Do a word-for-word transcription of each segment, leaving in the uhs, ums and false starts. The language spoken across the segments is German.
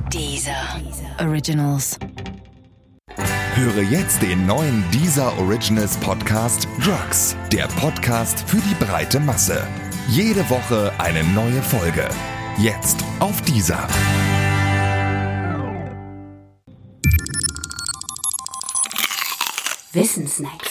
Deezer Originals. Höre jetzt den neuen Deezer Originals Podcast Drugs, der Podcast für die breite Masse. Jede Woche eine neue Folge. Jetzt auf Deezer. Wissensnacks.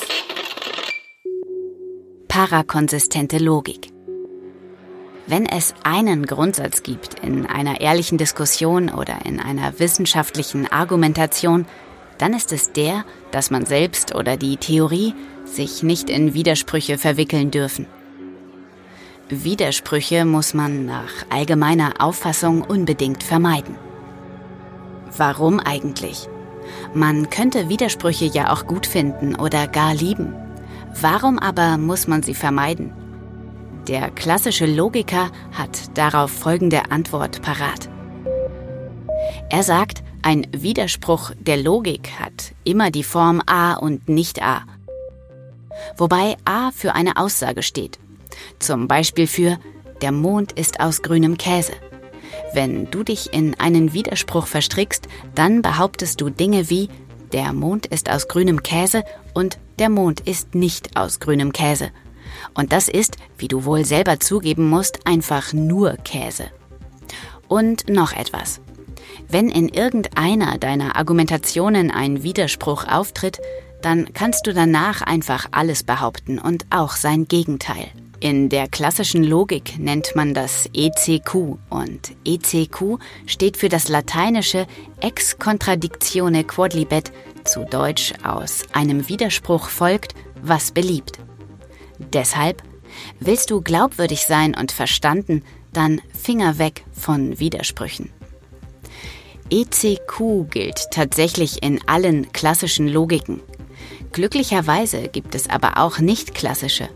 Parakonsistente Logik. Wenn es einen Grundsatz gibt in einer ehrlichen Diskussion oder in einer wissenschaftlichen Argumentation, dann ist es der, dass man selbst oder die Theorie sich nicht in Widersprüche verwickeln dürfen. Widersprüche muss man nach allgemeiner Auffassung unbedingt vermeiden. Warum eigentlich? Man könnte Widersprüche ja auch gut finden oder gar lieben. Warum aber muss man sie vermeiden? Der klassische Logiker hat darauf folgende Antwort parat. Er sagt, ein Widerspruch der Logik hat immer die Form A und nicht A. Wobei A für eine Aussage steht. Zum Beispiel für der Mond ist aus grünem Käse. Wenn du dich in einen Widerspruch verstrickst, dann behauptest du Dinge wie der Mond ist aus grünem Käse und der Mond ist nicht aus grünem Käse. Und das ist, wie du wohl selber zugeben musst, einfach nur Käse. Und noch etwas. Wenn in irgendeiner deiner Argumentationen ein Widerspruch auftritt, dann kannst du danach einfach alles behaupten und auch sein Gegenteil. In der klassischen Logik nennt man das E C Q und E C Q steht für das lateinische Ex contradictione quodlibet, zu Deutsch aus einem Widerspruch folgt, was beliebt. Deshalb, willst du glaubwürdig sein und verstanden, dann Finger weg von Widersprüchen. E C Q gilt tatsächlich in allen klassischen Logiken. Glücklicherweise gibt es aber auch nicht klassische.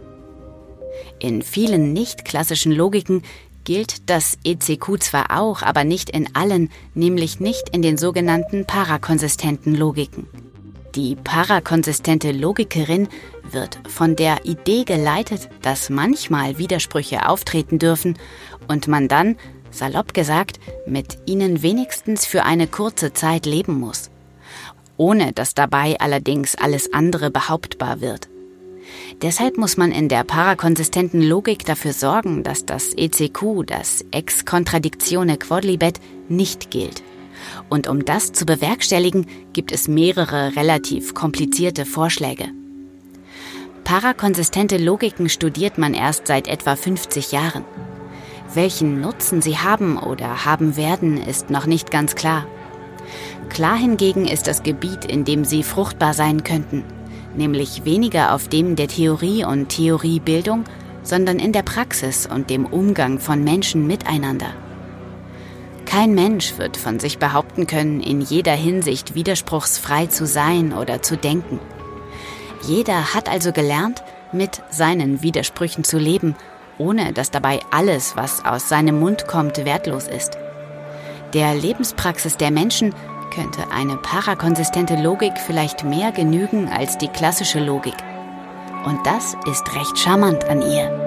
In vielen nicht-klassischen Logiken gilt das E C Q zwar auch, aber nicht in allen, nämlich nicht in den sogenannten parakonsistenten Logiken. Die parakonsistente Logikerin wird von der Idee geleitet, dass manchmal Widersprüche auftreten dürfen und man dann, salopp gesagt, mit ihnen wenigstens für eine kurze Zeit leben muss, ohne dass dabei allerdings alles andere behauptbar wird. Deshalb muss man in der parakonsistenten Logik dafür sorgen, dass das E C Q, das Ex contradictione quodlibet, nicht gilt. Und um das zu bewerkstelligen, gibt es mehrere relativ komplizierte Vorschläge. Parakonsistente Logiken studiert man erst seit etwa fünfzig Jahren. Welchen Nutzen sie haben oder haben werden, ist noch nicht ganz klar. Klar hingegen ist das Gebiet, in dem sie fruchtbar sein könnten, nämlich weniger auf dem der Theorie und Theoriebildung, sondern in der Praxis und dem Umgang von Menschen miteinander. Kein Mensch wird von sich behaupten können, in jeder Hinsicht widerspruchsfrei zu sein oder zu denken. Jeder hat also gelernt, mit seinen Widersprüchen zu leben, ohne dass dabei alles, was aus seinem Mund kommt, wertlos ist. Der Lebenspraxis der Menschen könnte eine parakonsistente Logik vielleicht mehr genügen als die klassische Logik. Und das ist recht charmant an ihr.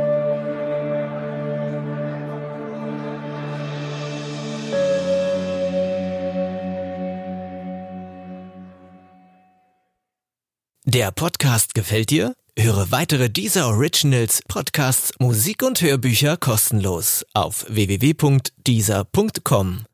Der Podcast gefällt dir? Höre weitere Deezer Originals, Podcasts, Musik und Hörbücher kostenlos auf w w w punkt deezer punkt com.